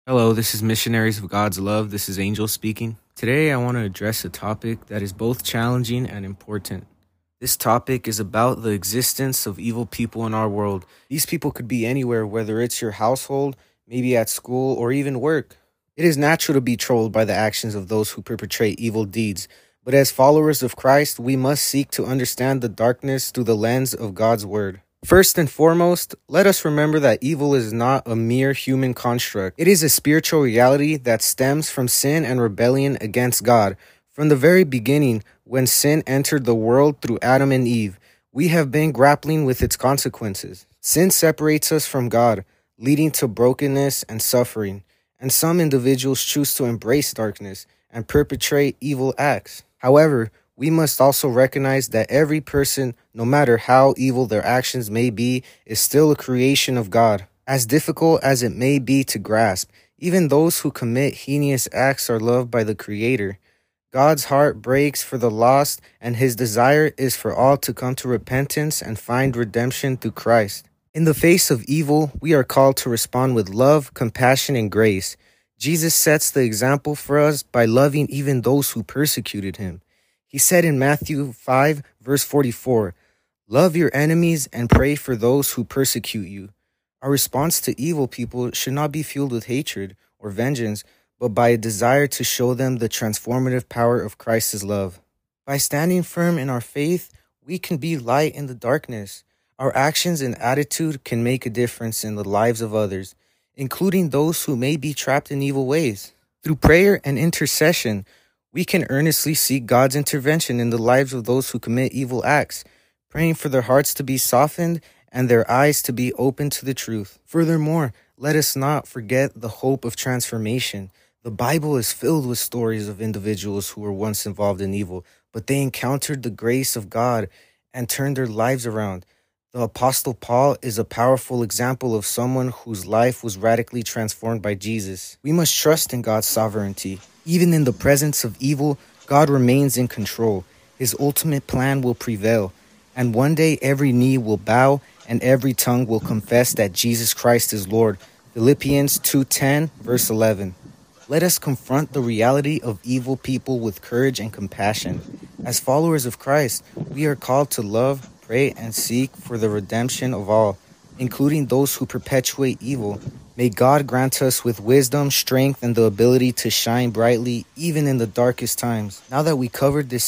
Hello, this is Missionaries of God's Love. This is Angel speaking. Today, I want to address a topic that is both challenging and important. This topic is about the existence of evil people in our world. These people could be anywhere, whether it's your household, maybe at school, or even work. It is natural to be trolled by the actions of those who perpetrate evil deeds, but as followers of Christ, we must seek to understand the darkness through the lens of God's Word. First and foremost, let us remember that evil is not a mere human construct. It is a spiritual reality that stems from sin and rebellion against God. From the very beginning, when sin entered the world through Adam and Eve, we have been grappling with its consequences. Sin separates us from God, leading to brokenness and suffering, and some individuals choose to embrace darkness and perpetrate evil acts. However, we must also recognize that every person, no matter how evil their actions may be, is still a creation of God. As difficult as it may be to grasp, even those who commit heinous acts are loved by the Creator. God's heart breaks for the lost, and His desire is for all to come to repentance and find redemption through Christ. In the face of evil, we are called to respond with love, compassion, and grace. Jesus sets the example for us by loving even those who persecuted Him. He said in Matthew 5, verse 44, "Love your enemies and pray for those who persecute you." Our response to evil people should not be fueled with hatred or vengeance, but by a desire to show them the transformative power of Christ's love. By standing firm in our faith, we can be light in the darkness. Our actions and attitude can make a difference in the lives of others, including those who may be trapped in evil ways. Through prayer and intercession, we can earnestly seek God's intervention in the lives of those who commit evil acts, praying for their hearts to be softened and their eyes to be open to the truth. Furthermore, let us not forget the hope of transformation. The Bible is filled with stories of individuals who were once involved in evil, but they encountered the grace of God and turned their lives around. The Apostle Paul is a powerful example of someone whose life was radically transformed by Jesus. We must trust in God's sovereignty. Even in the presence of evil, God remains in control. His ultimate plan will prevail, and one day every knee will bow and every tongue will confess that Jesus Christ is Lord. Philippians 2:10, verse 11. Let us confront the reality of evil people with courage and compassion. As followers of Christ, we are called to love, pray, and seek for the redemption of all, including those who perpetuate evil. May God grant us with wisdom, strength, and the ability to shine brightly even in the darkest times. Now that we covered this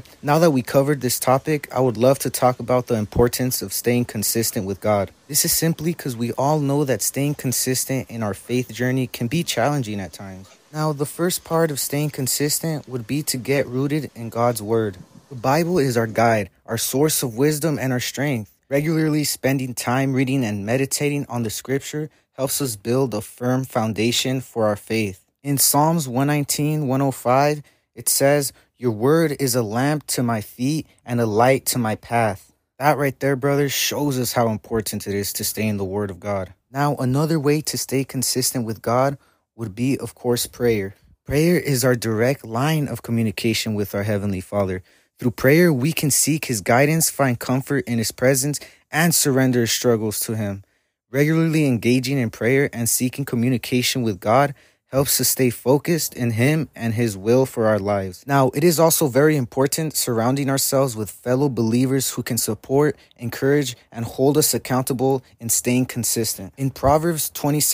topic, I would love to talk about the importance of staying consistent with God. This is simply because we all know that staying consistent in our faith journey can be challenging at times. Now, the first part of staying consistent would be to get rooted in God's Word. The Bible is our guide, our source of wisdom, and our strength. Regularly spending time reading and meditating on the Scripture helps us build a firm foundation for our faith. In Psalms 119:105, it says, "Your word is a lamp to my feet and a light to my path." That right there, brothers, shows us how important it is to stay in the Word of God. Now, another way to stay consistent with God would be, of course, prayer. Prayer is our direct line of communication with our Heavenly Father. Through prayer, we can seek His guidance, find comfort in His presence, and surrender our struggles to Him. Regularly engaging in prayer and seeking communication with God helps us stay focused in Him and His will for our lives. Now, it is also very important surrounding ourselves with fellow believers who can support, encourage, and hold us accountable in staying consistent. In Proverbs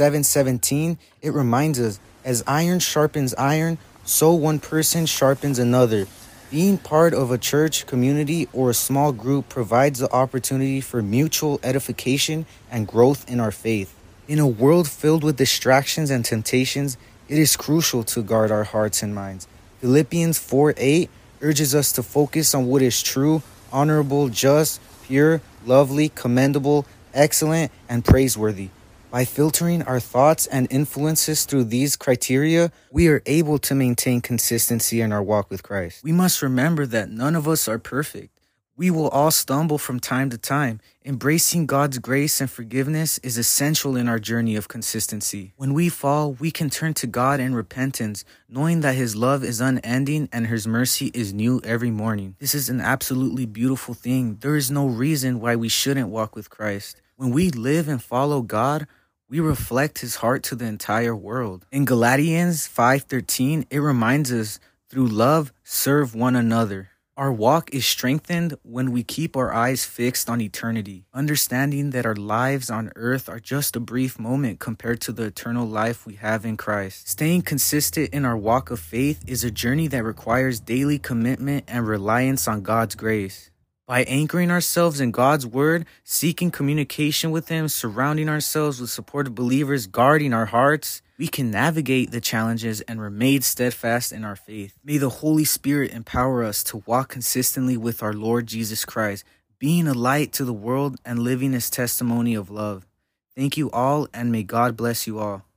27:17, it reminds us, "As iron sharpens iron, so one person sharpens another." Being part of a church, community, or a small group provides the opportunity for mutual edification and growth in our faith. In a world filled with distractions and temptations, it is crucial to guard our hearts and minds. Philippians 4:8 urges us to focus on what is true, honorable, just, pure, lovely, commendable, excellent, and praiseworthy. By filtering our thoughts and influences through these criteria, we are able to maintain consistency in our walk with Christ. We must remember that none of us are perfect. We will all stumble from time to time. Embracing God's grace and forgiveness is essential in our journey of consistency. When we fall, we can turn to God in repentance, knowing that His love is unending and His mercy is new every morning. This is an absolutely beautiful thing. There is no reason why we shouldn't walk with Christ. When we live and follow God, We reflect his heart to the entire world. In Galatians 5:13, it reminds us, through love, serve one another. Our walk is strengthened when we keep our eyes fixed on eternity, understanding that our lives on earth are just a brief moment compared to the eternal life we have in Christ. Staying consistent in our walk of faith is a journey that requires daily commitment and reliance on God's grace. By anchoring ourselves in God's word, seeking communication with him, surrounding ourselves with supportive believers, guarding our hearts, we can navigate the challenges and remain steadfast in our faith. May the Holy Spirit empower us to walk consistently with our Lord Jesus Christ, being a light to the world and living his testimony of love. Thank you all, and may God bless you all.